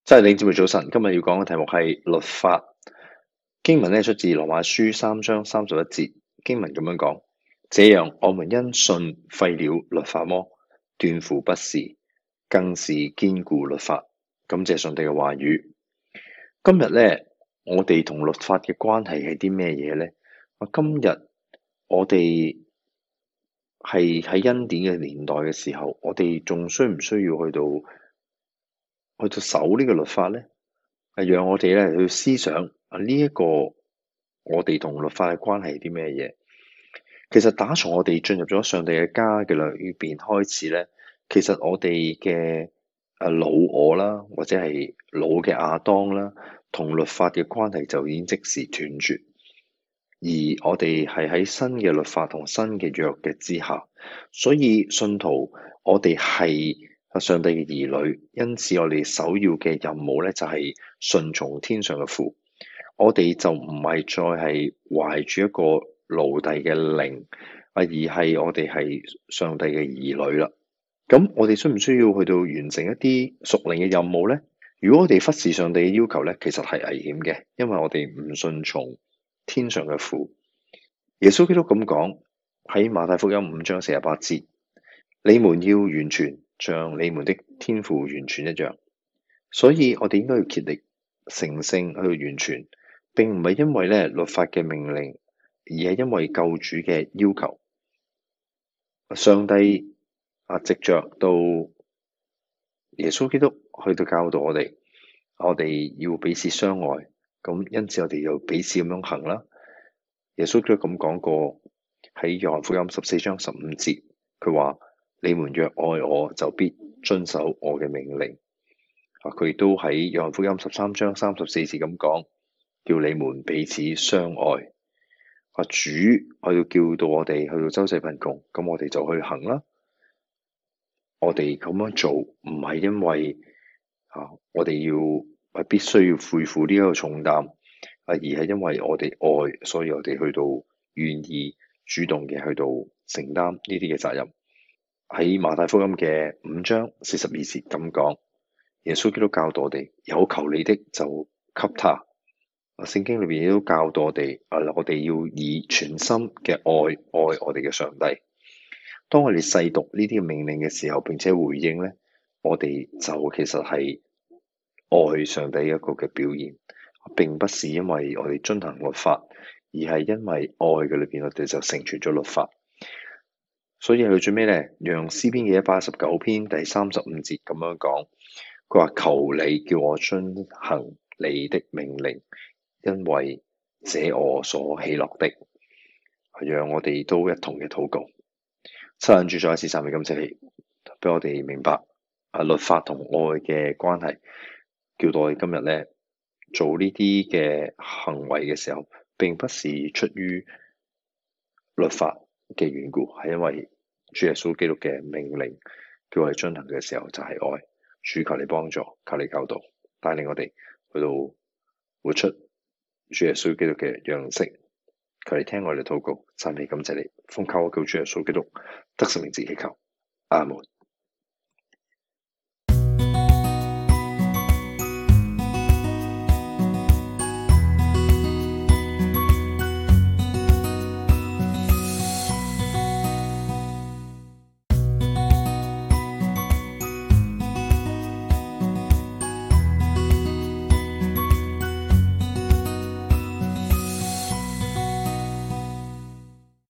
真係，弟兄姊妹早晨，今日要講嘅題目係律法。經文出自羅馬書3章31節，經文咁樣講：這樣我們因信廢了律法麼？斷乎不是，更是堅固律法。感謝上帝嘅話語。今日我哋同律法嘅關係係啲咩嘢呢？今日我哋係喺恩典嘅年代嘅時候，我哋仲需唔需要去到守呢個律法呢？讓我哋去思想呢一個我哋同律法嘅關係係啲咩嘢？其實打從我哋進入咗上帝嘅家嘅裏邊開始呢，其實我哋嘅老我啦，或者係老嘅亞當啦，同律法嘅關係就已經即時斷絕。而我哋係喺新嘅律法同新嘅約嘅之下，所以信徒我哋係上帝嘅兒女，因此我哋首要嘅任務就係順從天上嘅父。我哋就唔係再係懷住一個奴隸嘅靈，而係我哋係上帝嘅兒女啦。咁我哋需唔需要去到完成一啲屬靈嘅任務呢？如果我哋忽視上帝嘅要求其實係危險嘅，因為我哋唔順從天上嘅父。耶穌基督咁講喺馬太福音5章48節：你們要完全，像你們的天父完全一樣。所以我哋應該要竭力成聖去到完全，並唔係因為律法嘅命令，而係因為救主嘅要求。上帝藉着到耶穌基督去到教導我哋要彼此相愛，咁因此我哋要彼此咁樣行啦。耶穌基督咁講過喺約翰福音14章15節，佢話：你們若愛我，就必遵守我嘅命令。佢亦都喺約翰福音13章34節咁講，叫你們彼此相愛。主我要叫到我哋去到周濟貧窮，咁我哋就去行啦。我哋咁樣做唔係因為我哋必須要背負呢一個重擔，而係因為我哋愛，所以我哋去到願意主動嘅去到承擔呢啲嘅責任。喺馬太福音嘅5章42節咁講，耶穌基督教導我哋：有求你的就給他。聖經裏邊亦都教導我哋，我哋要以全心嘅愛我哋嘅上帝。當我哋細讀呢啲嘅命令嘅時候，並且回應我哋就其實係愛上帝一個嘅表現，並不是因為我哋遵行律法，而係因為愛嘅裏邊，我哋就成全咗律法。所以去最尾讓詩篇嘅119篇第35節咁樣講，佢話：求你叫我遵行你的命令，因為這我所喜樂的。讓我哋都一同嘅禱告。親近主再一次讚美感謝你，俾我哋明白律法同愛嘅關係，叫到我哋今日做呢啲嘅行為嘅時候，並不是出於律法嘅緣故，係因為主耶穌基督嘅命令叫我哋遵行嘅時候就係愛。主求你幫助，求你教導，帶領我哋去到活出主耶穌基督嘅樣式。求你聽我哋禱告，讚美感謝你，奉靠我救主耶穌基督得勝名字祈求，阿門。